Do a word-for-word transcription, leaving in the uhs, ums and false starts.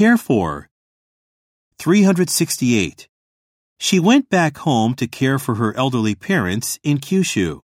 care for. three hundred sixty-eight. She went back home to care for her elderly parents in Kyushu.